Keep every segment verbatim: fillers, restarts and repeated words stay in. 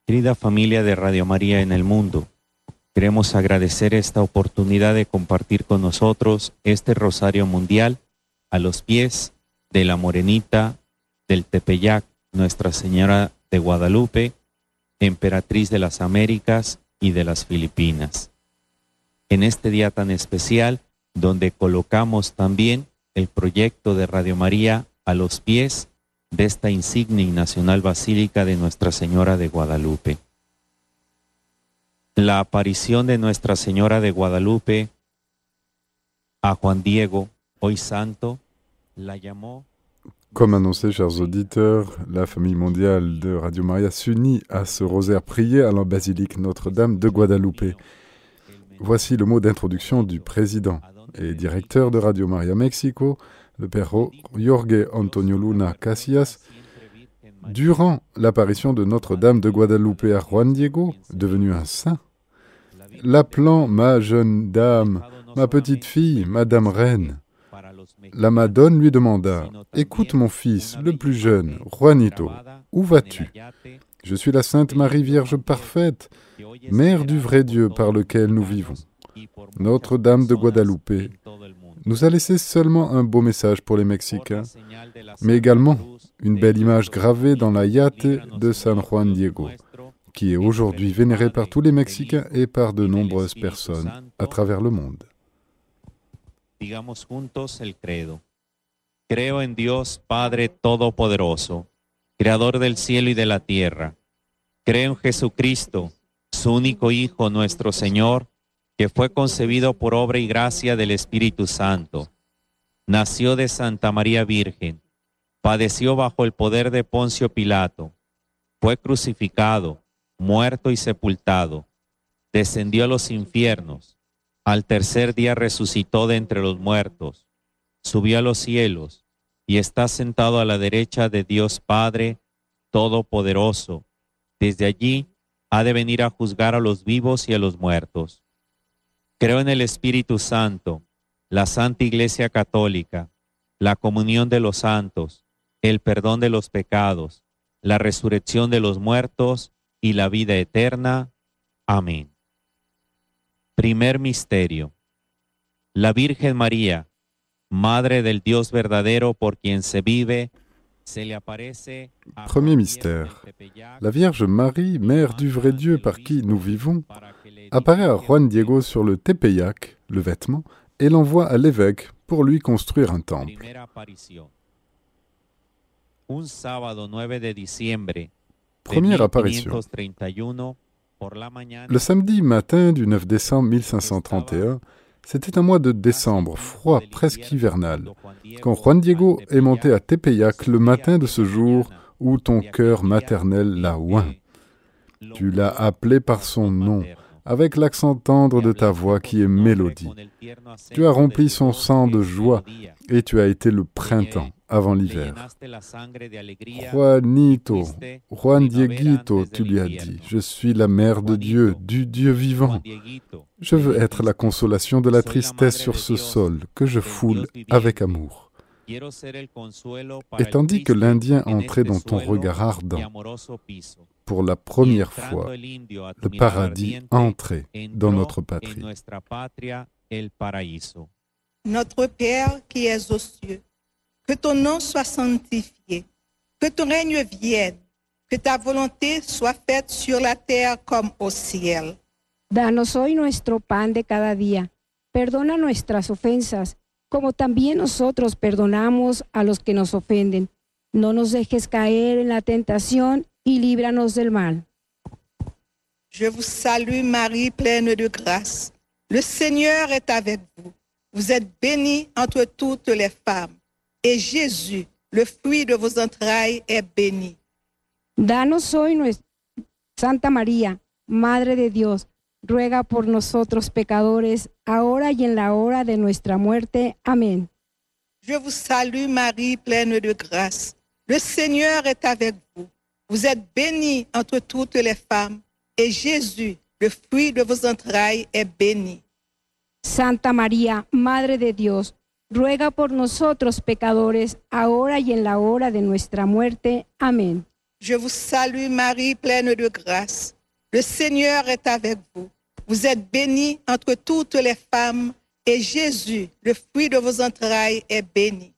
Querida familia de Radio María en el mundo, queremos agradecer esta oportunidad de compartir con nosotros este Rosario Mundial a los pies de la Morenita del Tepeyac, Nuestra Señora de Guadalupe, Emperatriz de las Américas y de las Filipinas. En este día tan especial, donde colocamos también el proyecto de Radio María a los pies de esta insigne y nacional basílica de Nuestra Señora de Guadalupe. La aparición de Nuestra Señora de Guadalupe a Juan Diego, hoy santo, la llamó. Comme annoncé, chers auditeurs, la famille mondiale de Radio Maria s'unit à ce rosaire prié à la basilique Notre-Dame de Guadalupe. Voici le mot d'introduction du président et directeur de Radio Maria Mexico, le père Jorge Antonio Luna Casillas. Durant l'apparition de Notre-Dame de Guadalupe à Juan Diego, devenu un saint, l'appelant ma jeune dame, ma petite fille, Madame Reine, la Madone lui demanda « Écoute mon fils, le plus jeune, Juanito, où vas-tu ? Je suis la Sainte Marie Vierge parfaite, Mère du vrai Dieu par lequel nous vivons. Notre-Dame de Guadalupe nous a laissé seulement un beau message pour les Mexicains, mais également une belle image gravée dans la yate de San Juan Diego, qui est aujourd'hui vénérée par tous les Mexicains et par de nombreuses personnes à travers le monde. Digamos juntos el credo. Creo en Dios Padre Todopoderoso, Creador del cielo y de la tierra. Creo en Jesucristo, su único Hijo, nuestro Señor, que fue concebido por obra y gracia del Espíritu Santo. Nació de Santa María Virgen, padeció bajo el poder de Poncio Pilato, fue crucificado, muerto y sepultado, descendió a los infiernos, al tercer día resucitó de entre los muertos, subió a los cielos y está sentado a la derecha de Dios Padre Todopoderoso. Desde allí ha de venir a juzgar a los vivos y a los muertos. Creo en el Espíritu Santo, la Santa Iglesia Católica, la comunión de los santos, el perdón de los pecados, la resurrección de los muertos y la vida eterna. Amén. Primer misterio. La Virgen María, Madre del Dios verdadero por quien se vive, se le aparece a Premier mystère. La Vierge Marie, Mère du vrai Dieu par qui nous vivons, apparaît à Juan Diego sur le Tepeyac, le vêtement, et l'envoie à l'évêque pour lui construire un temple. Première apparition. Le samedi matin du neuf décembre mille cinq cent trente et un, c'était un mois de décembre, froid, presque hivernal, quand Juan Diego est monté à Tepeyac le matin de ce jour où ton cœur maternel l'a oint. Tu l'as appelé par son nom, avec l'accent tendre de ta voix qui est mélodie. Tu as rempli son sang de joie et tu as été le printemps avant l'hiver. Juanito, Juan Dieguito, tu lui as dit, je suis la mère de Dieu, du Dieu vivant. Je veux être la consolation de la tristesse sur ce sol que je foule avec amour. Et tandis que l'Indien entrait dans ton regard ardent, pour la première fois, le paradis entrait dans notre patrie. Notre Père qui es aux cieux, que ton nom soit sanctifié, que ton règne vienne, que ta volonté soit faite sur la terre comme au ciel. Danos hoy nuestro pan de cada día. Perdona nuestras ofensas, como también nosotros perdonamos a los que nos ofenden. No nos dejes caer en la tentación y líbranos del mal. Je vous salue Marie, pleine de grâce. Le Seigneur est avec vous. Vous êtes bénie entre toutes les femmes. Et Jésus, le fruit de vos entrailles, est béni. Danos hoy nuestra Santa María, Madre de Dios, ruega por nosotros pecadores, ahora y en la hora de nuestra muerte. Amén. Je vous salue Marie, pleine de grâce. Le Seigneur est avec vous. Vous êtes bénie entre toutes les femmes, et Jésus, le fruit de vos entrailles, est béni. Santa María, Madre de Dios, ruega por nosotros pecadores, ahora y en la hora de nuestra muerte. Amén. Je vous salue Marie, pleine de grâce. Le Seigneur est avec vous. Vous êtes bénie entre toutes les femmes, et Jésus, le fruit de vos entrailles, est béni.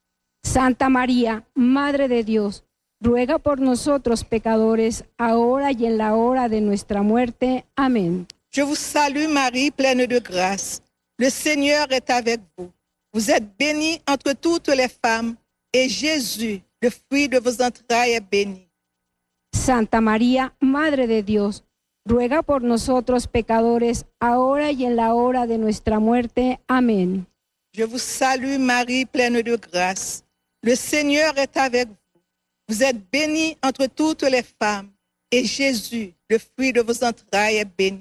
Santa María, Madre de Dios, ruega por nosotros pecadores, ahora y en la hora de nuestra muerte. Amén. Je vous salue Marie, pleine de grâce. Le Seigneur est avec vous. Vous êtes bénie entre toutes les femmes, et Jésus, le fruit de vos entrailles, est béni. Santa María, Madre de Dios, ruega por nosotros pecadores, ahora y en la hora de nuestra muerte. Amén. Je vous salue Marie, pleine de grâce. Le Seigneur est avec vous. Vous êtes bénie entre toutes les femmes, et Jésus, le fruit de vos entrailles, est béni.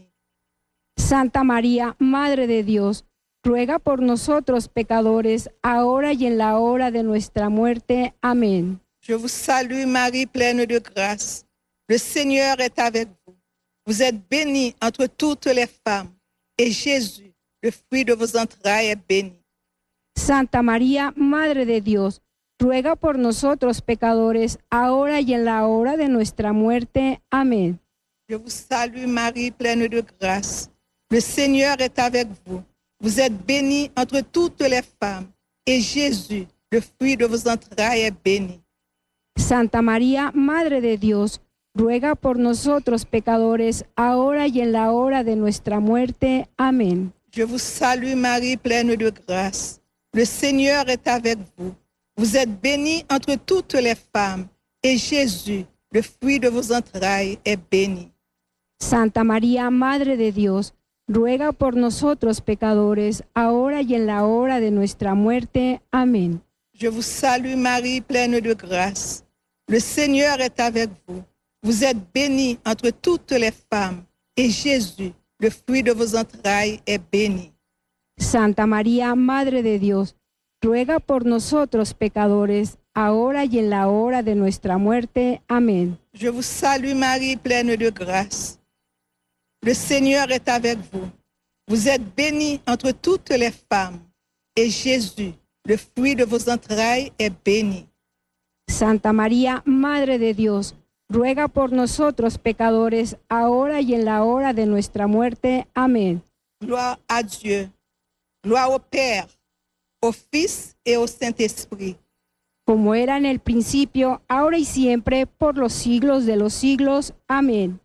Santa María, Madre de Dios, ruega por nosotros pecadores, ahora y en la hora de nuestra muerte. Amén. Je vous salue Marie, pleine de grâce. Le Seigneur est avec vous. Vous êtes bénie entre toutes les femmes, et Jésus, le fruit de vos entrailles, est béni. Santa María, Madre de Dios, ruega por nosotros pecadores, ahora y en la hora de nuestra muerte. Amén. Je vous salue Marie, pleine de grâce. Le Seigneur est avec vous. Vous êtes bénie entre toutes les femmes, et Jésus, le fruit de vos entrailles, est béni. Santa María, Madre de Dios, ruega por nosotros pecadores, ahora y en la hora de nuestra muerte. Amén. Je vous salue Marie, pleine de grâce. Le Seigneur est avec vous. Vous êtes bénie entre toutes les femmes, et Jésus, le fruit de vos entrailles, est béni. Santa María, Madre de Dios, ruega por nosotros pecadores, ahora y en la hora de nuestra muerte. Amén. Je vous salue Marie, pleine de grâce. Le Seigneur est avec vous. Vous êtes bénie entre toutes les femmes, et Jésus, le fruit de vos entrailles, est béni. Santa María, Madre de Dios, ruega por nosotros pecadores, ahora y en la hora de nuestra muerte. Amén. Je vous salue Marie, pleine de grâce. Le Seigneur est avec vous. Vous êtes bénie entre toutes les femmes, et Jésus, le fruit de vos entrailles, est béni. Santa María, Madre de Dios, ruega por nosotros pecadores, ahora y en la hora de nuestra muerte. Amén. Gloire à Dieu. Gloire au Père, au Fils et au Saint-Esprit. Como era en el principio, ahora y siempre, por los siglos de los siglos. Amén.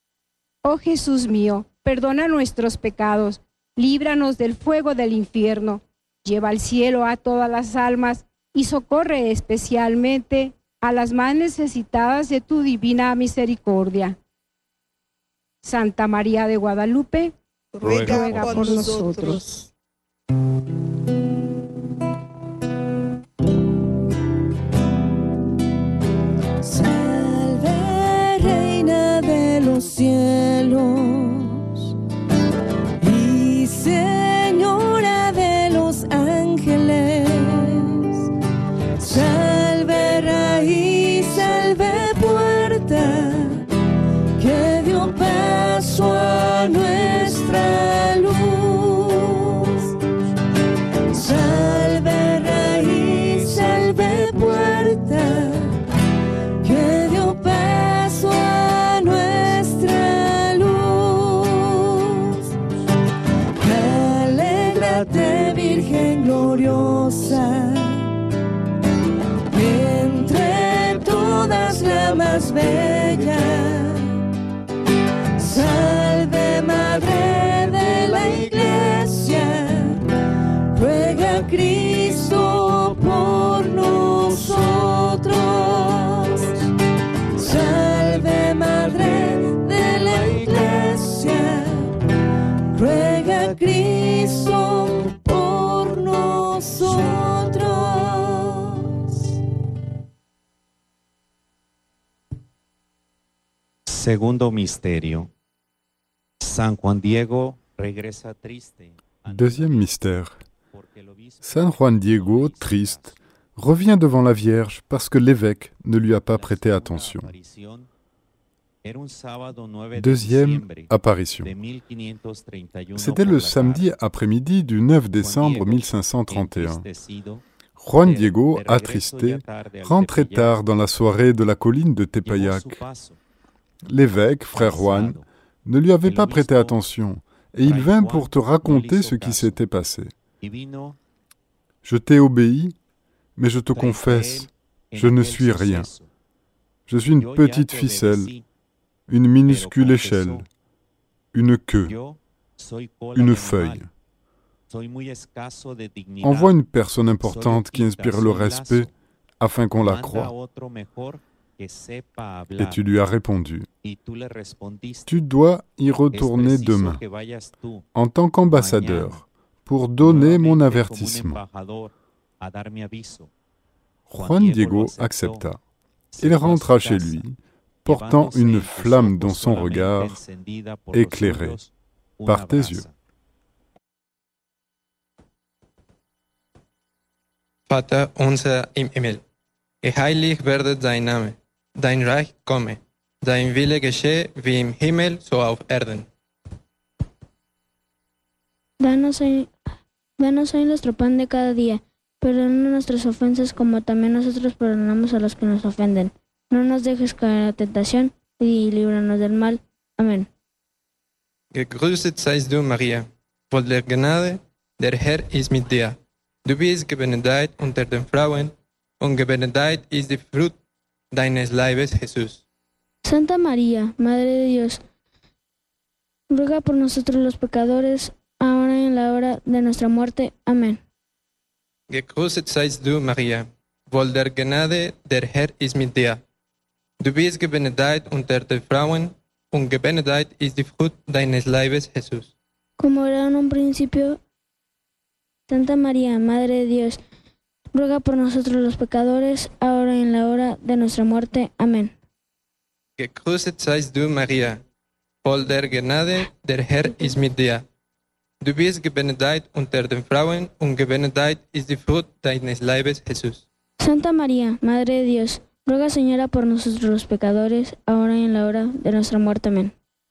Oh Jesús mío, perdona nuestros pecados, líbranos del fuego del infierno, lleva al cielo a todas las almas y socorre especialmente a las más necesitadas de tu divina misericordia. Santa María de Guadalupe, ruega, ruega por, por nosotros. Salve, Reina de los cielos y Señora de los ángeles. Salve, raíz, salve, puerta que dio paso a nuestra luz. Salve, raíz, salve, puerta que dio paso a nuestra luz. Alégrate, Virgen gloriosa, entre todas la más bella. Salve, Madre de la Iglesia, ruega a Cristo por nosotros. Salve, Madre de la Iglesia, ruega a Cristo por nosotros. Segundo misterio. San Juan Diego regresa triste. Deuxième mystère. San Juan Diego, triste, revient devant la Vierge parce que l'évêque ne lui a pas prêté attention. Deuxième apparition. C'était le samedi après-midi du neuf décembre mille cinq cent trente et un. Juan Diego, attristé, rentrait tard dans la soirée de la colline de Tepeyac. L'évêque, frère Juan, ne lui avait pas prêté attention, et il vint pour te raconter ce qui s'était passé. Je t'ai obéi, mais je te confesse, je ne suis rien. Je suis une petite ficelle, une minuscule échelle, une queue, une feuille. Envoie une personne importante qui inspire le respect afin qu'on la croie. Et tu lui as répondu, tu dois y retourner demain, en tant qu'ambassadeur, pour donner mon avertissement. Juan Diego accepta. Il rentra chez lui, portant une flamme dans son regard, éclairée par tes yeux. Vater unser im Himmel, geheiligt werde dein Name, dein Reich komme, dein Wille geschehe wie im Himmel so auf Erden. Danos hoy, danos hoy nuestro pan de cada día, perdona nuestras ofensas como también nosotros perdonamos a los que nos ofenden. No nos dejes caer en la tentación y líbranos del mal. Amén. Gegrüßet seist du, Maria, voll der Gnade, der Herr ist mit dir. Du bist gebenedeit unter den Frauen, und gebenedeit ist die Frucht deines Leibes, Jesús. Santa María, Madre de Dios, ruega por nosotros los pecadores, ahora y en la hora de nuestra muerte. Amén. Gegrüßet seist du, Maria, voll der Gnade, der Herr ist mit dir. Du bist gebenedeit unter den Frauen, und gebenedeit ist die Frucht deines Leibes, Jesús. Como era en un principio, Santa María, Madre de Dios, ruega por nosotros los pecadores, ahora y en la hora de nuestra muerte. Amén. Gegrüßet seist du, Maria, voll der Gnade, der Herr ist mit dir. Du bist gebenedeit unter den Frauen, und gebenedeit ist die Frucht deines Leibes, Jesús. Santa María, Madre de Dios, ruega, Señora, por nosotros los pecadores, ahora y en la hora de nuestra muerte. Amén.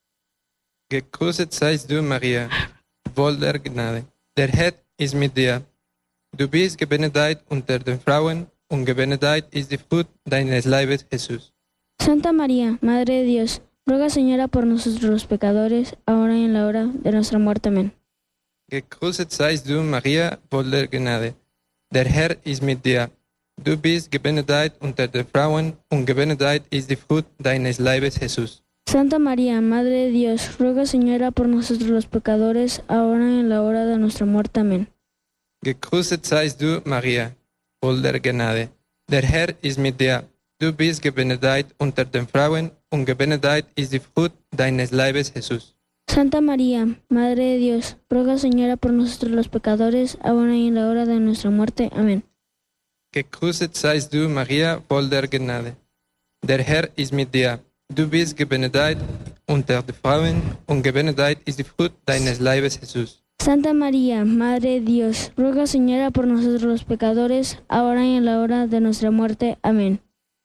Gegrüßet seist du, Maria, voll der Gnade, der Herr ist mit dir. Du bist gebenedeit unter den Frauen, und gebenedeit ist die Frucht deines Leibes, Jesús. Santa María, Madre de Dios, ruega, Señora, por nosotros los pecadores, ahora y en la hora de nuestra muerte. Amén. Gegrüßet seist du, Maria, voll der Gnade, der Herr ist mit dir. Du bist gebenedeit unter den Frauen, und gebenedeit ist die Frucht deines Leibes, Jesús. Santa María, Madre de Dios, ruega, Señora, por nosotros los pecadores, ahora y en la hora de nuestra muerte. Amén. Gegrüßet seist du, Maria, voll der Gnade, der Herr ist mit dir. Du bist gebenedeit unter den Frauen, und gebenedeit ist die Frucht deines Leibes, Jesús. Santa María, Madre de Dios, ruega, Señora, por nosotros los pecadores, ahora y en la hora de nuestra muerte. Amén. Gegrüßet seist du, Maria, voll der Gnade, der Herr ist mit dir. Du bist gebenedeit unter den Frauen, und gebenedeit ist die Frucht deines Leibes, Jesús. Santa María, Madre de Dios, ruega, Señora, por nosotros los pecadores, ahora y en la hora de nuestra muerte. Amén.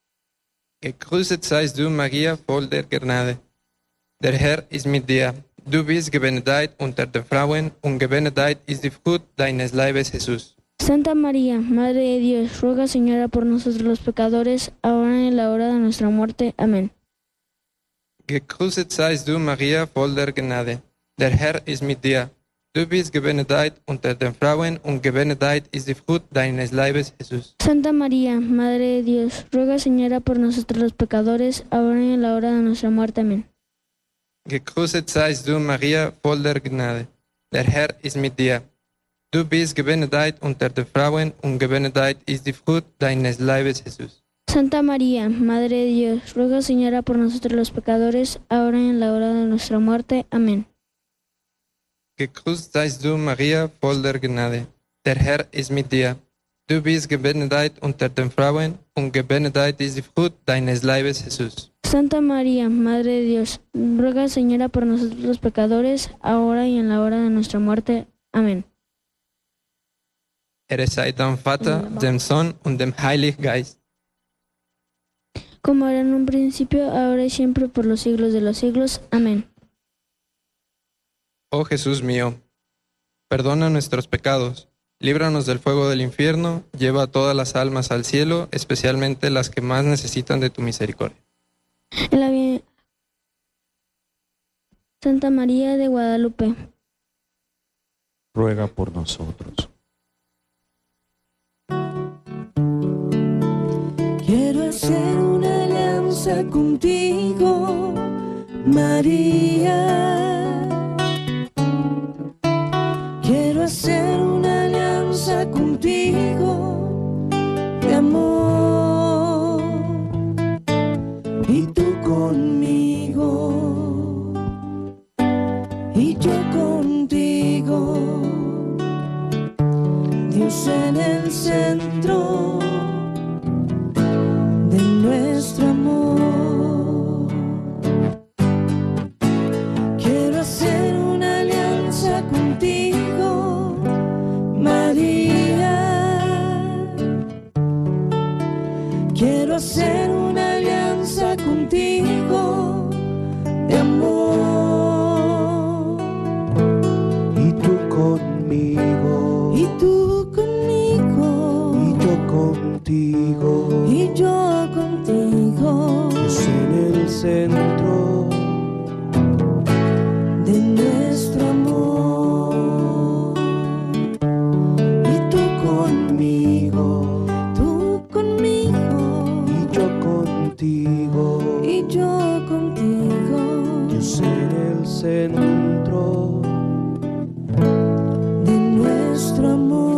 Gegrüßet seist du, Maria, voll der Gnade, der Herr ist mit dir. Du bist gebenedeit unter den Frauen, und gebenedeit ist die Frucht deines Leibes, Jesús. Santa María, Madre de Dios, ruega, Señora, por nosotros los pecadores, ahora y en la hora de nuestra muerte. Amén. Gegrüßet seist du, Maria, voll der Gnade, der Herr ist mit dir. Du bist gebenedeit unter den Frauen, und gebenedeit ist die Frucht deines Leibes, Jesús. Santa María, Madre de Dios, ruega, Señora, por nosotros los pecadores, ahora y en la hora de nuestra muerte. Amén. Gegrüßet seist du, Maria, voll der Gnade, der Herr ist mit dir. Du bist gebenedeit unter den Frauen, und gebenedeit ist die Frucht deines Leibes, Jesús. Santa María, Madre de Dios, ruega, Señora, por nosotros los pecadores, ahora y en la hora de nuestra muerte. Amén. Gegrüßt seist du, Maria, voll der Gnade, der Herr ist mit dir. Du bist gebenedeit unter den Frauen, und gebenedeit ist die Frucht deines Leibes, Jesús. Santa María, Madre de Dios, ruega, Señora, por nosotros los pecadores, ahora y en la hora de nuestra muerte. Amén. Ehre sei dem Vater, dem Sohn und dem Heiligen Geist. Como era en un principio, ahora y siempre, por los siglos de los siglos. Amén. Oh Jesús mío, perdona nuestros pecados, líbranos del fuego del infierno, lleva a todas las almas al cielo, especialmente las que más necesitan de tu misericordia. En la vi- Santa María de Guadalupe, ruega por nosotros. Quiero hacer una alianza contigo, María. Quiero hacer una alianza contigo de amor, y tú conmigo, y yo contigo, Dios en el centro de nuestro amor. Quiero hacer una alianza contigo, María. Quiero hacer una alianza contigo de amor, y tú conmigo, y tú conmigo, y yo contigo, y yo contigo, Dios en el centro de nuestro amor. Y tú conmigo, tú conmigo, y yo contigo, y yo contigo, Dios en el centro de nuestro amor.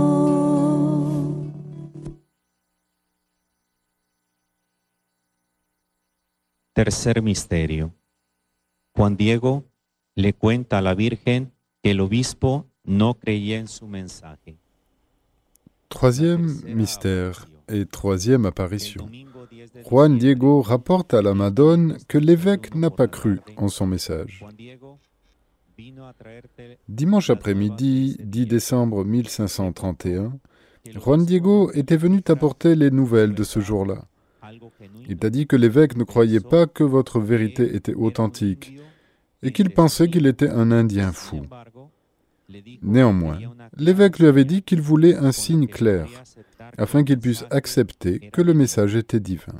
Tercer misterio. Juan Diego le cuenta a la Virgen que el obispo no creía en su mensaje. Troisième mystère et troisième apparition. Juan Diego rapporte à la Madone que l'évêque n'a pas cru en son message. Dimanche après-midi, dix décembre mille cinq cent trente et un, Juan Diego était venu t'apporter les nouvelles de ce jour-là. Il t'a dit que l'évêque ne croyait pas que votre vérité était authentique et qu'il pensait qu'il était un Indien fou. Néanmoins, l'évêque lui avait dit qu'il voulait un signe clair, afin qu'il puisse accepter que le message était divin.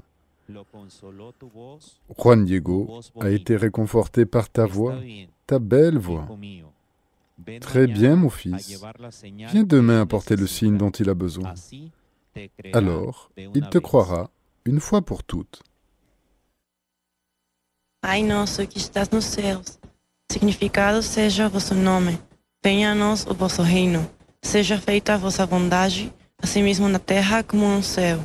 Juan Diego a été réconforté par ta voix, ta belle voix. Très bien, mon fils. Viens demain apporter le signe dont il a besoin. Alors, il te croira une fois pour toutes. Pai nosso que estás nos céus, significado seja o vosso nome. Venha a nós o vosso reino. Seja feita a vossa vontade, assim mesmo na terra como no céu.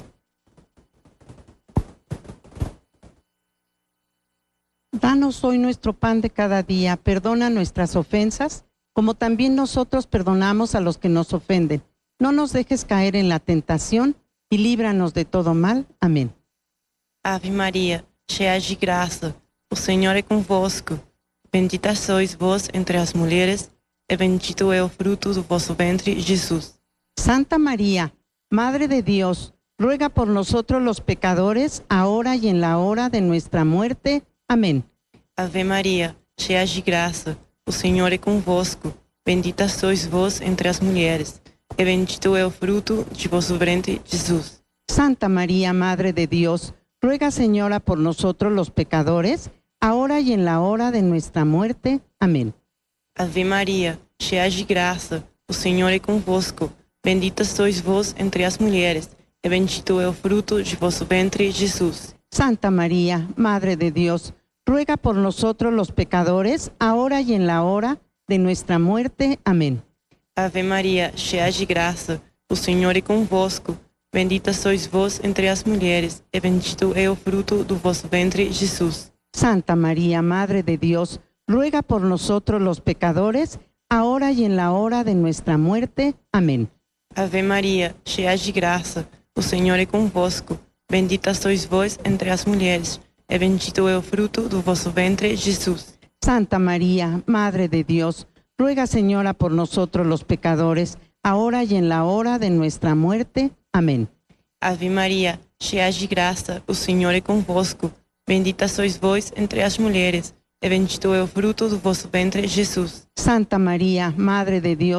Danos hoy nuestro pan de cada día, perdona nuestras ofensas, como también nosotros perdonamos a los que nos ofenden. No nos dejes caer en la tentación y líbranos de todo mal. Amén. Ave Maria, cheia de graça, o Senhor é convosco. Bendita sois vós entre as mulheres, e bendito é o fruto do vosso ventre, Jesus. Santa María, Madre de Dios, ruega por nosotros los pecadores, ahora y en la hora de nuestra muerte. Amén. Ave Maria, cheia de graça, o Senhor é convosco. Bendita sois vós entre as mulheres, e bendito é o fruto de vosso ventre, Jesus. Santa María, Madre de Dios, ruega, Señora, por nosotros los pecadores, ahora y en la hora de nuestra muerte. Amén. Ave Maria, cheia de graça, o Senhor é convosco. Bendita sois vós entre as mulheres, e bendito é o fruto de vosso ventre, Jesus. Santa María, Madre de Dios, ruega por nosotros los pecadores, ahora y en la hora de nuestra muerte. Amén. Ave Maria, cheia de graça, o Senhor é convosco. Bendita sois vós entre as mulheres, e bendito é o fruto do vosso ventre, Jesus. Santa María, Madre de Dios, ruega por nosotros los pecadores, ahora y en la hora de nuestra muerte. Amén. Ave Maria, cheia de graça, o Senhor é convosco. Bendita sois vós entre as mulheres, e bendito é o fruto do vosso ventre, Jesus. Santa María, Madre de Dios, ruega, Señora, por nosotros los pecadores, ahora y en la hora de nuestra muerte. Amén. Ave Maria, cheia de graça, o Senhor é convosco. Bendita sois vós entre as mulheres, e bendito é o fruto do vosso ventre, Jesus. Santa María, Madre de Dios,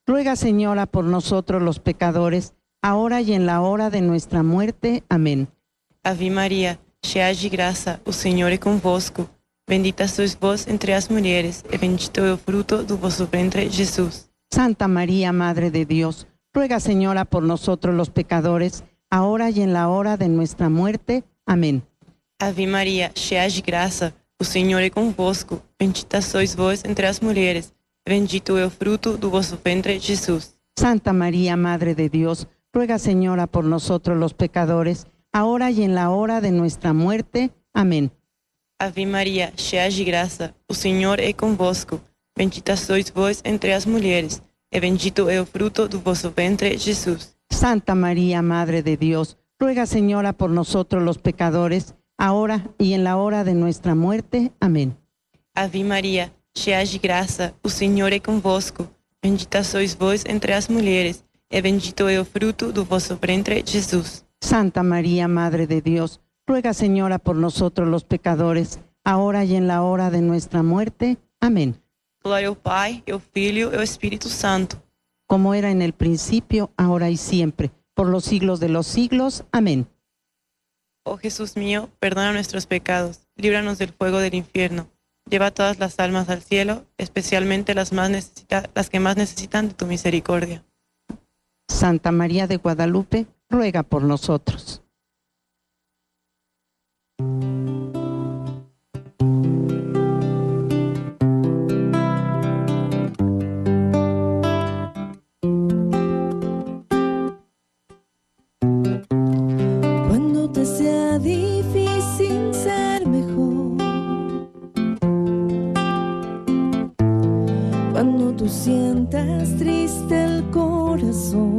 ruega, Señora, por nosotros los pecadores, ahora y en la hora de nuestra muerte. Amén. Ave Maria, cheia de graça, o Senhor é convosco. Bendita sois vós entre as mulheres, e bendito é o fruto do vosso ventre, Jesus. Santa María, Madre de Dios, ruega, Señora, por nosotros los pecadores, ahora y en la hora de nuestra muerte. Amén. Ave Maria, cheia de graça, o Senhor é convosco. Bendita sois vós entre as mulheres, e bendito é o fruto do vosso ventre, Jesus. Santa María, Madre de Dios, ruega, Señora, por nosotros los pecadores, ahora y en la hora de nuestra muerte. Amén. Ave Maria, cheia de graça, o Senhor é convosco. Bendita sois vós entre as mulheres, e bendito é o fruto do vosso ventre, Jesus. Santa María, Madre de Dios, ruega, Señora, por nosotros los pecadores, ahora y en la hora de nuestra muerte. Amén. Ave Maria, cheia de graça, o Senhor é convosco. Bendita sois vós entre as mulheres, e bendito é o fruto do vosso ventre, Jesus. Santa María, Madre de Dios, ruega, Señora, por nosotros los pecadores, ahora y en la hora de nuestra muerte. Amén. Glória ao Pai, ao Filho e ao Espírito Santo. Como era en el principio, ahora y siempre, por los siglos de los siglos. Amén. Oh Jesús mío, perdona nuestros pecados, líbranos del fuego del infierno, lleva todas las almas al cielo, especialmente las, más necesita- las que más necesitan de tu misericordia. Santa María de Guadalupe, ruega por nosotros. Cuando te sea difícil ser mejor, cuando tú sientas triste el corazón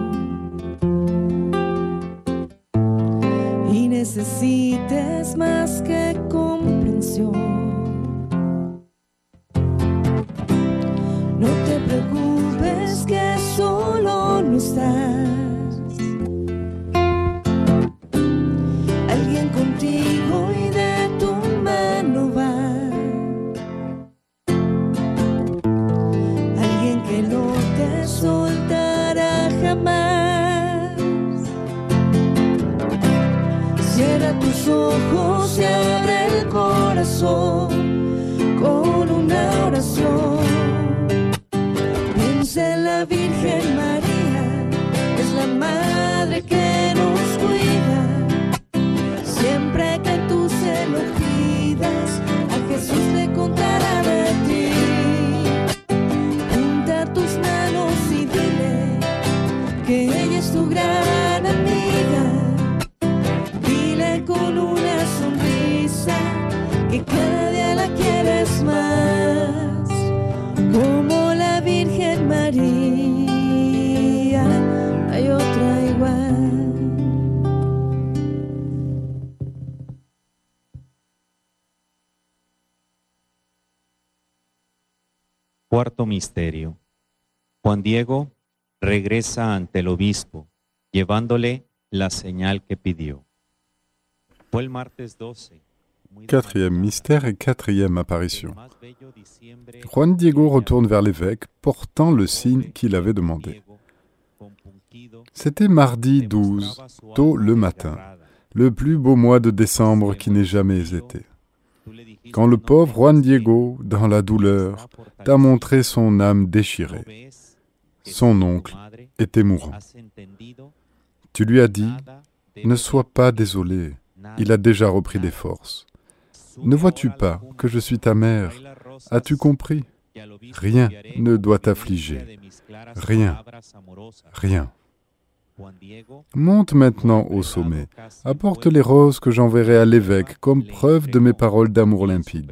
y necesites más que comprensión, no te preocupes que solo no estás. Alguien contigo y de tu mano va. Alguien que no te soltará jamás. Cierra tus ojos y abre el corazón con una oración. Piensa en la Virgen María, es la madre que nos cuida. Siempre que tú se lo pidas, a Jesús le contará de ti. Junta tus manos y dile que ella es tu gran amiga. Dile con una sonrisa que cada día la quieres más. Como la Virgen María, hay otra igual. Cuarto misterio. Juan Diego regresa ante el obispo, llevándole la señal que pidió. Fue el martes doce. Quatrième mystère et quatrième apparition. Juan Diego retourne vers l'évêque, portant le signe qu'il avait demandé. C'était mardi douze, tôt le matin, le plus beau mois de décembre qui n'ait jamais été. Quand le pauvre Juan Diego, dans la douleur, t'a montré son âme déchirée. Son oncle était mourant. Tu lui as dit, ne sois pas désolé, il a déjà repris des forces. Ne vois-tu pas que je suis ta mère? As-tu compris? Rien ne doit t'affliger. Rien. Rien. Monte maintenant au sommet. Apporte les roses que j'enverrai à l'évêque comme preuve de mes paroles d'amour limpide.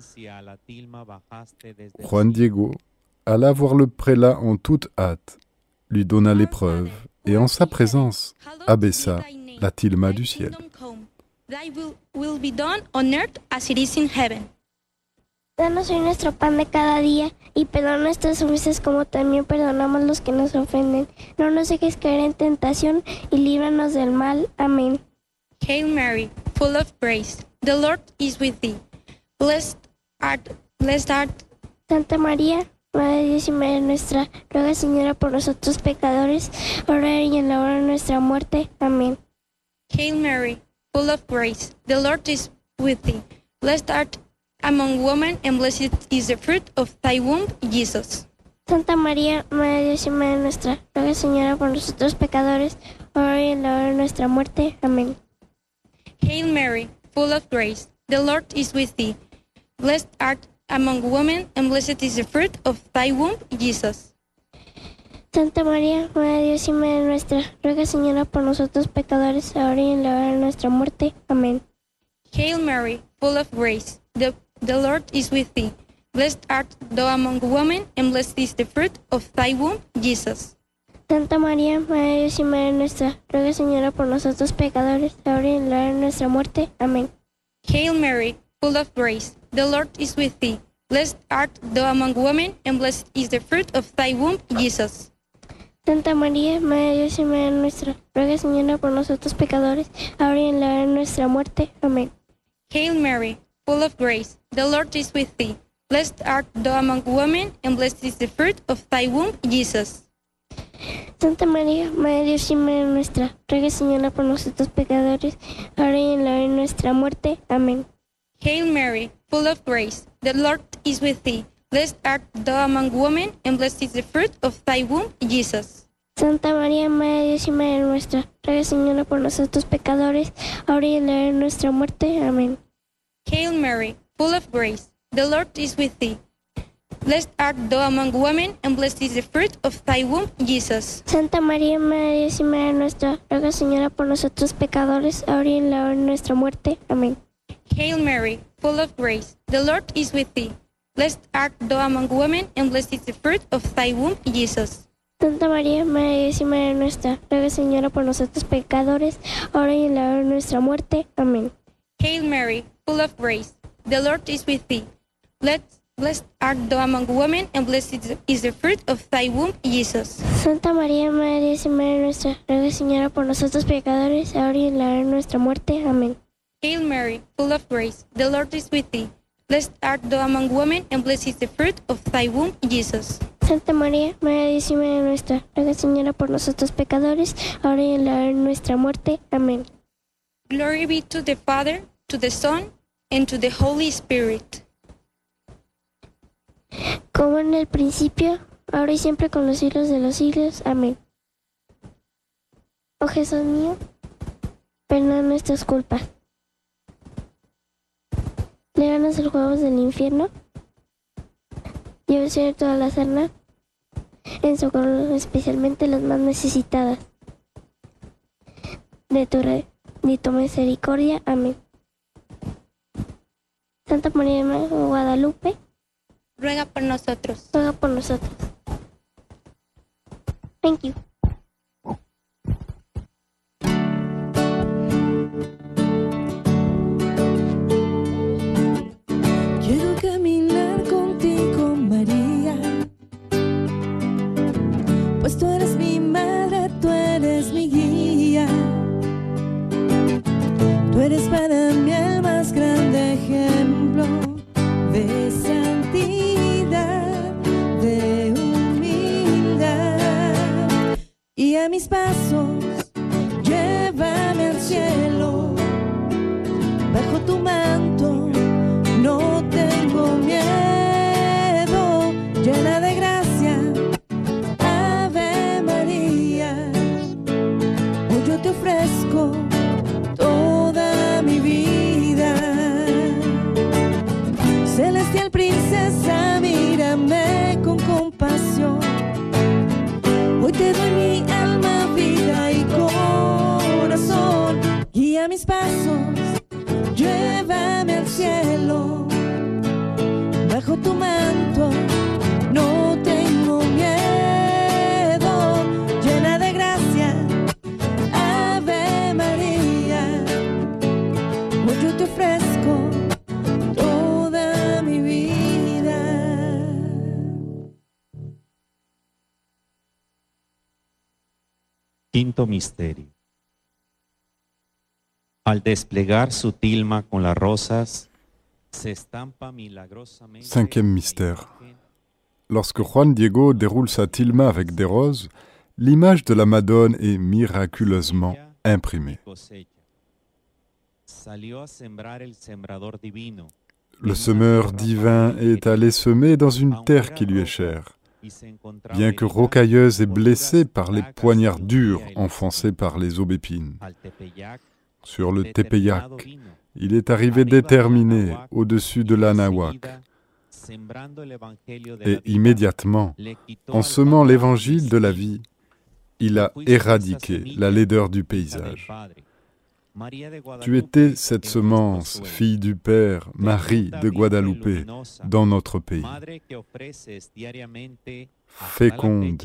Juan Diego alla voir le prélat en toute hâte, lui donna l'épreuve et en sa présence abaissa la tilma du ciel. Thy will, will be done on earth as it is in heaven. Danos hoy nuestro pan de cada día y perdona nuestras ofensas como también perdonamos los que nos ofenden. No nos dejes caer en tentación y líbranos del mal. Amén. Hail Mary, full of grace, the Lord is with thee. Blessed art, blessed art, Santa María, Madre de Dios y Madre nuestra, ruega, Señora, por nosotros pecadores, ahora y en la hora de nuestra muerte. Amén. Hail Mary, full of grace, the Lord is with thee. Blessed art among women, and blessed is the fruit of thy womb, Jesus. Santa María, Madre de Dios y Madre nuestra, ruega, Señora, por nosotros pecadores, ahora y en la hora de nuestra muerte. Amén. Hail Mary, full of grace, the Lord is with thee. Blessed art among women, and blessed is the fruit of thy womb, Jesus. Santa María, Madre de Dios y Madre nuestra, ruega, Señora, por nosotros pecadores, ahora y en la hora de nuestra muerte. Amén. Hail Mary, full of grace, the, the Lord is with thee. Blessed art thou among women, and blessed is the fruit of thy womb, Jesus. Santa María, Madre de Dios y Madre nuestra, ruega, Señora, por nosotros pecadores, ahora y en la hora de nuestra muerte. Amén. Hail Mary, full of grace, the Lord is with thee. Blessed art thou among women, and blessed is the fruit of thy womb, Jesus. Santa María, Madre de Dios y Madre nuestra, ruega, Señora, por nosotros pecadores, ahora y en la hora de nuestra muerte. Amén. Hail Mary, full of grace, the Lord is with thee. Blessed art thou among women, and blessed is the fruit of thy womb, Jesus. Santa María, Madre de Dios y Madre nuestra, ruega, Señora, por nosotros pecadores, ahora y en la hora de nuestra muerte. Amén. Hail Mary, full of grace, the Lord is with thee. Blessed art thou among women, and blessed is the fruit of thy womb, Jesus. Santa María, Madre de Dios y Madre nuestra, ruega, Señora, por nosotros pecadores, ahora y en la hora de nuestra muerte. Amén. Hail Mary, full of grace, the Lord is with thee. Blessed art thou among women, and blessed is the fruit of thy womb, Jesus. Santa María, Madre de Dios y Madre nuestra, ruega, Señora, por nosotros pecadores, ahora y en la hora de nuestra muerte. Amén. Hail Mary, full of grace, the Lord is with thee. Blessed art thou among women, and blessed is the fruit of thy womb, Jesus. Santa María, Madre de Dios y Madre nuestra, ruega, Señora, por nosotros pecadores, ahora y en la hora de nuestra muerte. Amén. Hail Mary, full of grace, the Lord is with thee. Blessed, blessed art thou among women, and blessed is the fruit of thy womb, Jesus. Santa María, Madre de Dios y Madre nuestra, ruega, Señora, por nosotros pecadores, ahora y en la hora de nuestra muerte. Amén. Hail Mary, full of grace, the Lord is with thee. Blessed art thou among women, and blessed is the fruit of thy womb, Jesus. Santa María, Madre de Dios y Madre nuestra, ruega, Señora, por nosotros pecadores, ahora y en la hora de nuestra muerte. Amén. Glory be to the Father, to the Son, and to the Holy Spirit. Como en el principio, ahora y siempre, con los siglos de los siglos. Amén. Oh Jesús mío, perdona nuestras culpas. Líbranos de los juegos del infierno. Llévese todas las almas, en socorro especialmente las más necesitadas de tu, re, de tu misericordia. Amén. Santa María de Guadalupe, ruega por nosotros. Ruega por nosotros. Thank you. Quiero caminar contigo, María, pues tú eres mi madre, tú eres mi guía. Tú eres para mí el más grande ejemplo de santidad, de humildad. Y a mis pasos, llévame al cielo, bajo tu manto. No tengo miedo, llena de gracia, Ave María. Hoy yo te ofrezco toda mi vida. Celestial princesa, mírame con compasión. Hoy te doy mi alma, vida y corazón. Guía mis pasos, llévame al cielo, bajo tu manto. No tengo miedo, llena de gracia, Ave María. Hoy yo te ofrezco toda mi vida. Quinto misterio. Al desplegar su tilma con las rosas, se estampa milagrosamente. Cinquième mystère. Lorsque Juan Diego déroule sa tilma avec des roses, l'image de la Madone est miraculeusement imprimée. Le semeur divin est allé semer dans une terre qui lui est chère. Bien que rocailleuse et blessée par les poignards durs enfoncés par les aubépines. Sur le Tepeyac, il est arrivé déterminé au-dessus de l'Anahuac. Et immédiatement, en semant l'évangile de la vie, il a éradiqué la laideur du paysage. Tu étais cette semence, fille du Père, Marie de Guadalupe, dans notre pays. Féconde,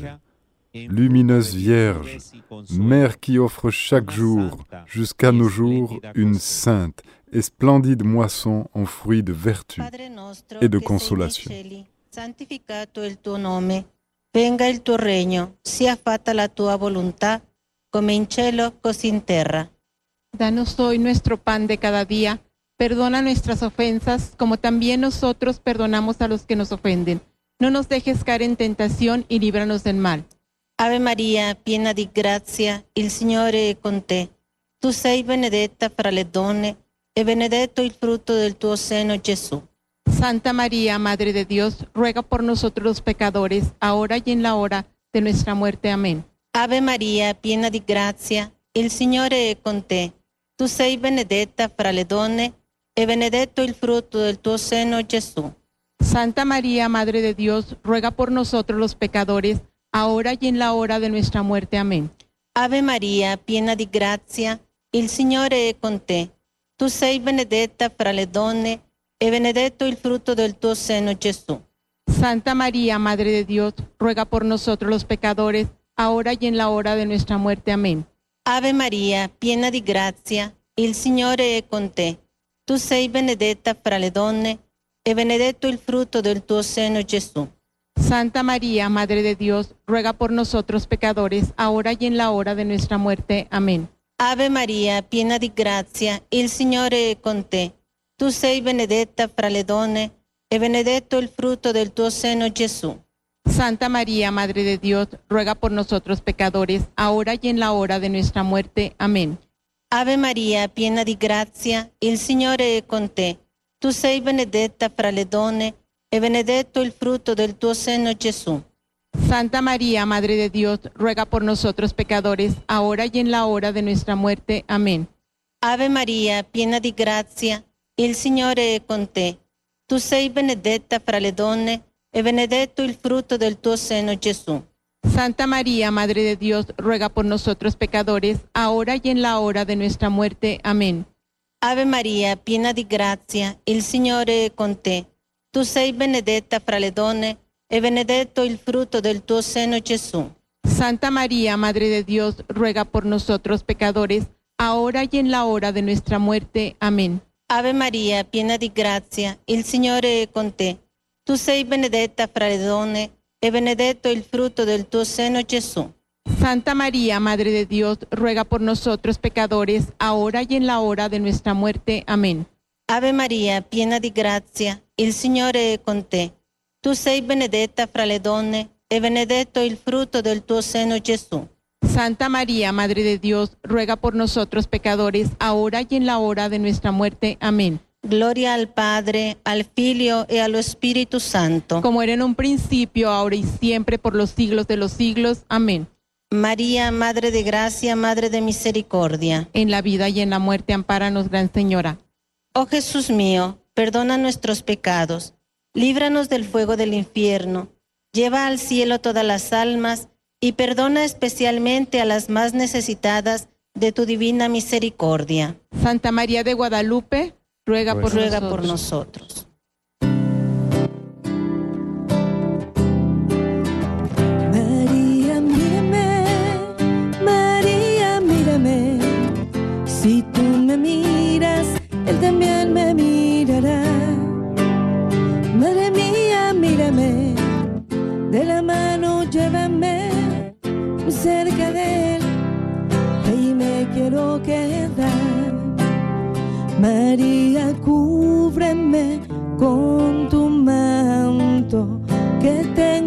lumineuse Vierge, Mère qui offre chaque jour, jusqu'à nos jours, une sainte et splendide moisson en fruits de vertu et de consolation. Santificato il tuo nome, venga il tuo regno, sia fatta la tua volontà, come in cielo, così in terra. Danos hoy nuestro pan de cada día, perdona nuestras ofensas, como también nosotros perdonamos a los que nos ofenden. No nos dejes caer en tentación y líbranos del mal. Ave Maria, piena di grazia, il Signore è con te. Tu sei benedetta fra le donne, e benedetto il frutto del tuo seno, Gesù. Santa María, Madre de Dios, ruega por nosotros los pecadores, ahora y en la hora de nuestra muerte. Amén. Ave Maria, piena di grazia, il Signore è con te. Tu sei benedetta fra le donne, e benedetto il frutto del tuo seno, Gesù. Santa María, Madre de Dios, ruega por nosotros los pecadores, ahora y en la hora de nuestra muerte. Amén. Ave Maria, piena di grazia, il Signore è con te. Tu sei benedetta fra le donne, e benedetto il frutto del tuo seno, Gesù. Santa María, Madre de Dios, ruega por nosotros los pecadores, ahora y en la hora de nuestra muerte. Amén. Ave Maria, piena di grazia, il Signore è con te. Tu sei benedetta fra le donne, e benedetto il frutto del tuo seno, Gesù. Santa María, Madre de Dios, ruega por nosotros pecadores, ahora y en la hora de nuestra muerte. Amén. Ave Maria, piena di grazia, il Signore è con te. Tu sei benedetta fra le donne, e benedetto il frutto del tuo seno, Gesù. Santa María, Madre de Dios, ruega por nosotros pecadores, ahora y en la hora de nuestra muerte. Amén. Ave Maria, piena di grazia, il Signore è con te. Tu sei benedetta fra le donne, e benedetto il frutto del tuo seno, Gesù. Santa María, Madre de Dios, ruega por nosotros pecadores, ahora y en la hora de nuestra muerte. Amén. Ave Maria, piena di grazia, il Signore è con te. Tu sei benedetta fra le donne, e benedetto il frutto del tuo seno, Gesù. Santa María, Madre de Dios, ruega por nosotros pecadores, ahora y en la hora de nuestra muerte. Amén. Ave Maria, piena di grazia, il Signore è con te. Tu sei benedetta fra le donne, e benedetto il frutto del tuo seno, Gesù. Santa María, Madre de Dios, ruega por nosotros pecadores, ahora y en la hora de nuestra muerte. Amén. Ave Maria, piena di grazia, il Signore è con te. Tu sei benedetta fra le donne, e benedetto il frutto del tuo seno, Gesù. Santa María, Madre de Dios, ruega por nosotros pecadores, ahora y en la hora de nuestra muerte. Amén. Ave Maria, piena di grazia, il Signore è con te. Tu sei benedetta fra le donne, e benedetto il frutto del tuo seno, Gesù. Santa María, Madre de Dios, ruega por nosotros pecadores, ahora y en la hora de nuestra muerte. Amén. Gloria al Padre, al Figlio e allo Spirito Santo. Como era en un principio, ahora y siempre, por los siglos de los siglos. Amén. María, Madre de Gracia, Madre de Misericordia. En la vida y en la muerte, ampáranos, Gran Señora. Oh Jesús mío, perdona nuestros pecados, líbranos del fuego del infierno, lleva al cielo todas las almas y perdona especialmente a las más necesitadas de tu divina misericordia. Santa María de Guadalupe, ruega por ruega nosotros. por nosotros. María, mírame, María, mírame. Si tú me miras, Él también me mirará. Madre mía, mírame, de la mano llévame muy cerca de Él, ahí me quiero quedar. María, cúbreme con tu manto, que tengo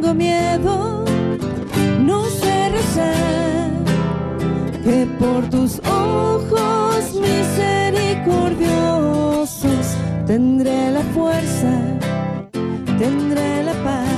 tendré la paz.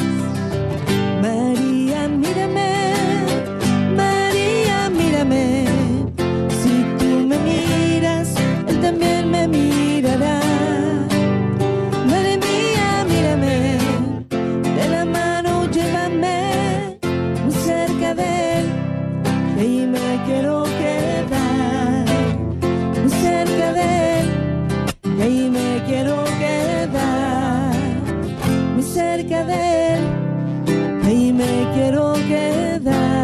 María, mírame, María, mírame. Si tú me miras, Él también me mirará. Madre mía, mírame, de la mano llévame muy cerca de Él, que allí me quiero quedar. Muy cerca de Él, que allí me quiero quedar. Muy cerca de Él, que allí me quiero quedar.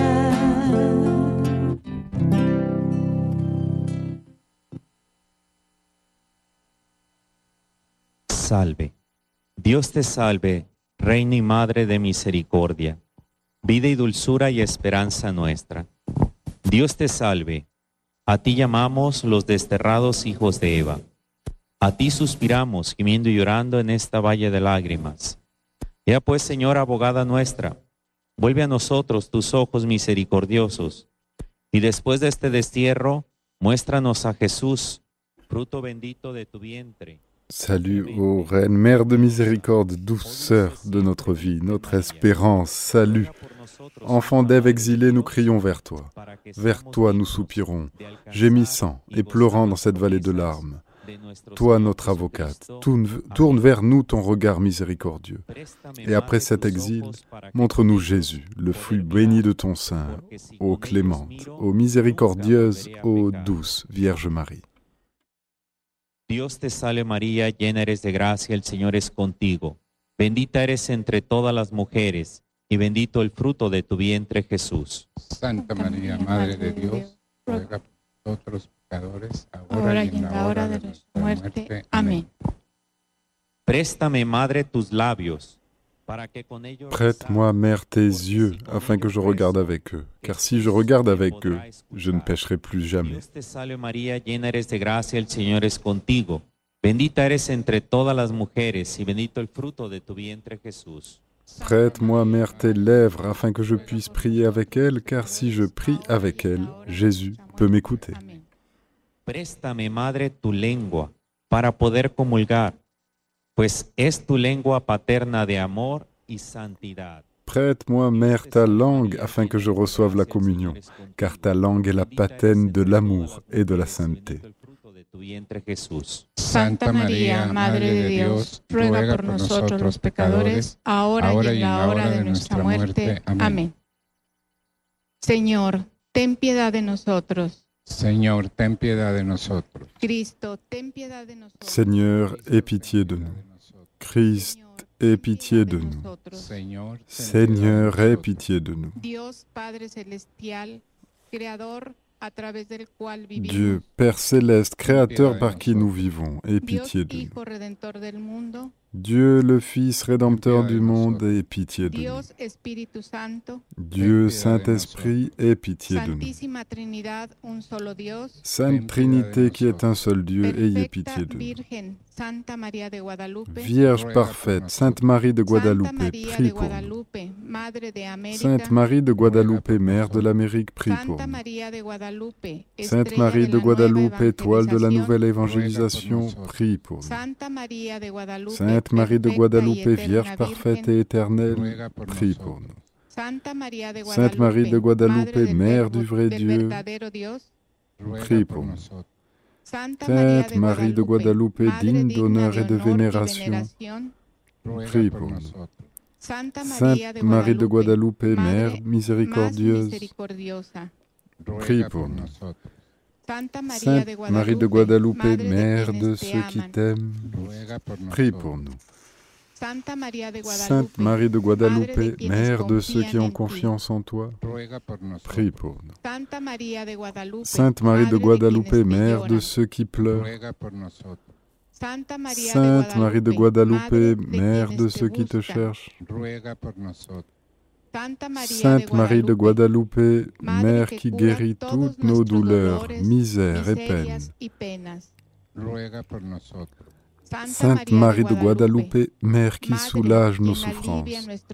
Salve. Dios te salve, Reina y Madre de misericordia, vida y dulzura y esperanza nuestra. Dios te salve. A ti llamamos los desterrados hijos de Eva. A ti suspiramos, gimiendo y llorando en esta valle de lágrimas. Ea pues, Señora abogada nuestra, vuelve a nosotros tus ojos misericordiosos, y después de este destierro, muéstranos a Jesús, fruto bendito de tu vientre. Salut ô Reine, Mère de miséricorde, douceur de notre vie, notre espérance, salut. Enfants d'Ève exilés, nous crions vers toi. Vers toi nous soupirons, gémissant et pleurant dans cette vallée de larmes. Toi, notre avocate, tourne, tourne vers nous ton regard miséricordieux. Et après cet exil, montre-nous Jésus, le fruit béni de ton sein, ô clémente, ô miséricordieuse, ô douce Vierge Marie. Dios te salve María, llena eres de gracia, el Señor es contigo. Bendita eres entre todas las mujeres, y bendito el fruto de tu vientre Jesús. Santa María, Madre de Dios, ruega por nosotros pecadores, ahora y en la hora de nuestra muerte. Amén. Préstame, Madre, tus labios, para que con ellos... Prête-moi, Mère, tes yeux, afin que je regarde avec eux. Car si je regarde avec eux, je ne pécherai plus jamais. Dios te salve María, llena eres de gracia, el Señor es contigo. Bendita eres entre todas las mujeres, y bendito el fruto de tu vientre Jesús. Prête-moi, Mère, tes lèvres, afin que je puisse prier avec elles, car si je prie avec elles, Jésus peut m'écouter. Préstame, Madre, tu lengua, para poder comulgar, pues es tu lengua paterna de amor y santidad. Prête-moi, Mère, ta langue, afin que je reçoive la communion, car ta langue est la patène de l'amour et de la sainteté. Santa María, Madre de Dios, ruega por nosotros los pecadores, ahora y en la hora de nuestra muerte. Amén. Señor, ten piedad de nosotros. Señor, ten piedad de nosotros. Cristo, ten piedad de nosotros. Seigneur, aie pitié de nous. Christ, aie pitié de nous. Seigneur, aie pitié de nous. Dios Padre celestial, creador a través del cual vivimos. Dieu, Père céleste, créateur par qui nous vivons, aie pitié de nous. Hijo redentor del mundo. Dieu, le Fils rédempteur du monde, aie pitié de nous. Dios Espíritu Santo. Dieu, Saint-Esprit, aie pitié de nous. Santísima Trinidad, un solo Dios. Sainte Trinité qui est un seul Dieu, ayez pitié de nous. Virgen, Santa María de Guadalupe. Vierge parfaite, Sainte Marie de Guadalupe, prie pour nous. Sainte Marie de Guadalupe, Mère de l'Amérique, prie pour nous. Sainte Marie de Guadalupe, étoile de la nouvelle évangélisation, prie pour nous. Sainte Marie de Guadalupe, Vierge parfaite et éternelle, prie pour nous. Sainte Marie de Guadalupe, Mère du vrai Dieu, prie pour nous. Sainte Marie de Guadalupe, digne d'honneur et de vénération, prie pour nous. Sainte Marie de Guadalupe, Mère miséricordieuse, prie pour nous. Sainte Marie de Guadalupe, Mère de ceux qui t'aiment, prie pour nous. Sainte Marie de Guadalupe, Mère de ceux qui ont confiance en toi, prie pour nous. Sainte Marie de Guadalupe, Mère de ceux qui pleurent, Sainte Marie de Guadalupe, Mère de ceux qui te cherchent, Sainte Marie de Guadalupe, Mère qui guérit toutes nos douleurs, misères et peines. Sainte Marie de Guadalupe, Mère qui soulage nos souffrances.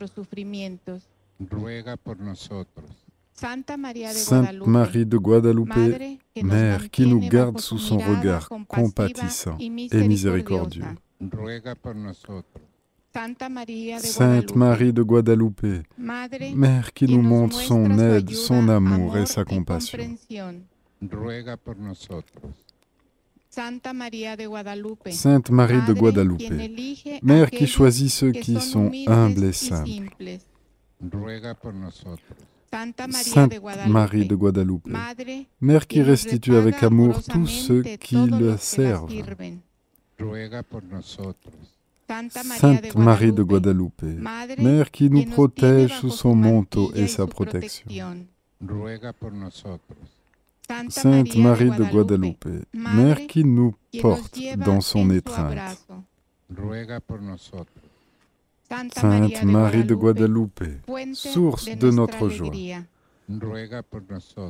Sainte Marie de Guadalupe, Mère qui nous garde sous son regard compatissant et miséricordieux. Sainte Marie de Guadalupe, Mère qui nous montre son aide, son amour et sa compassion. Ruega por nosotros. Santa María de Guadalupe, Sainte Marie de Guadalupe, Mère qui choisit ceux qui sont humbles et simples. Ruega por nosotros. Sainte Marie de Guadalupe, Mère qui restitue avec amour tous ceux qui le servent. Ruega por nosotros. Sainte Marie de Guadalupe, Mère qui nous protège sous son manteau et sa protection. Ruega por nosotros. Sainte Marie de Guadalupe, Mère qui nous porte dans son étreinte. Ruega por nosotros. Sainte Marie de Guadalupe, source de notre joie. Ruega por nosotros.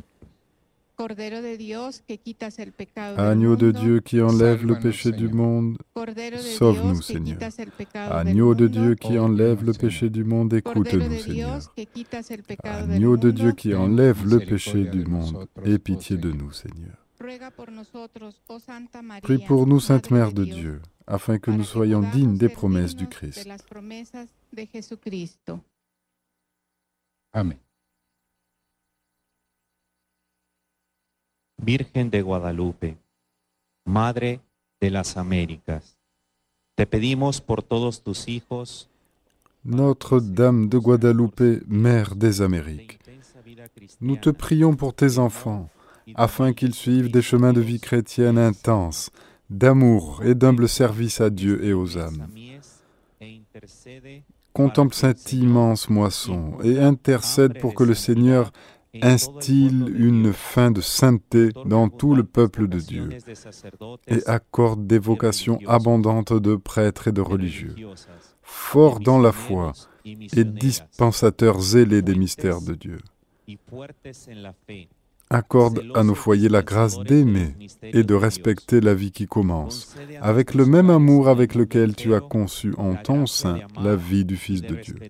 Agneau de Dieu qui enlève le péché du monde, sauve-nous, Seigneur. Agneau de Dieu qui enlève le péché du monde, écoute-nous, Seigneur. Agneau de Dieu qui enlève le péché du monde, aie pitié de nous, Seigneur. Prie pour nous, Sainte Mère de Dieu, afin que nous soyons dignes des promesses du Christ. Amen. Virgen de Guadalupe, Madre de las Américas, te pedimos por todos tus hijos. Notre-Dame de Guadalupe, Mère des Amériques, nous te prions pour tes enfants, afin qu'ils suivent des chemins de vie chrétienne intenses, d'amour et d'humble service à Dieu et aux âmes. Contemple cette immense moisson et intercède pour que le Seigneur instille une fin de sainteté dans tout le peuple de Dieu et accorde des vocations abondantes de prêtres et de religieux, forts dans la foi et dispensateurs zélés des mystères de Dieu. Accorde à nos foyers la grâce d'aimer et de respecter la vie qui commence, avec le même amour avec lequel tu as conçu en ton sein la vie du Fils de Dieu.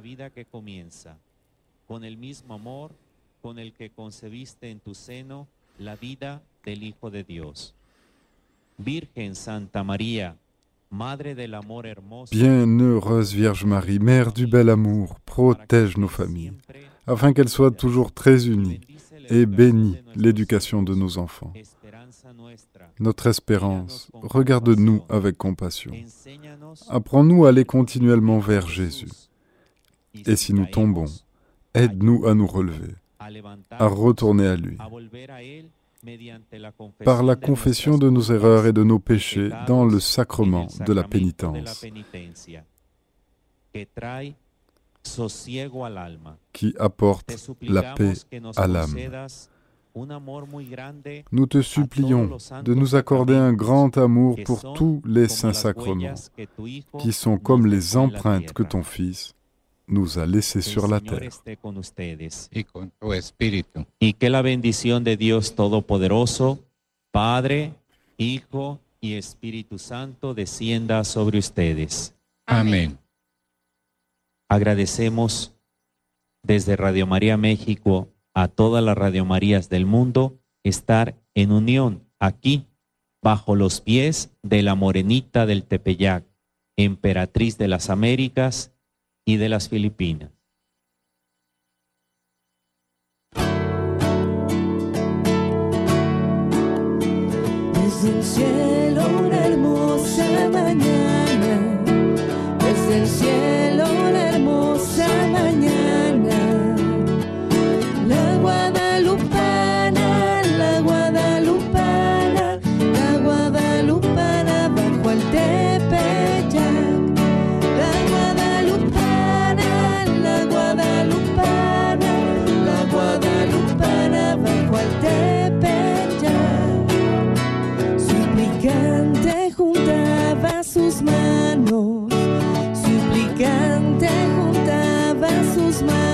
Con el que concebiste en tu seno la vida del Hijo de Dios. Virgen Santa María, Madre del amor hermoso. Bienheureuse Vierge Marie, Mère du bel amour, protège nos familles, afin qu'elles soient toujours très unies, et bénis l'éducation de nos enfants. Notre espérance, regarde-nous avec compassion. Apprends-nous à aller continuellement vers Jésus. Et si nous tombons, aide-nous à nous relever, à retourner à lui, par la confession de nos erreurs et de nos péchés dans le sacrement de la pénitence, qui apporte la paix à l'âme. Nous te supplions de nous accorder un grand amour pour tous les saints sacrements, qui sont comme les empreintes que ton Fils nous a laissé sur la terre. Y que la bendición de Dios Todopoderoso, Padre, Hijo y Espíritu Santo descienda sobre ustedes. Amén. Agradecemos desde Radio María México a todas las Radio Marías del mundo estar en unión aquí, bajo los pies de la Morenita del Tepeyac, emperatriz de las Américas y de las Filipinas. Desde el cielo una hermosa mañana, desde el cielo una hermosa mañana, la guadalupana, la guadalupana, la guadalupana bajo el Tepeyac, la guadalupana, la guadalupana, la guadalupana bajo el Tepeyac, suplicante juntaba sus manos, suplicante juntaba sus manos.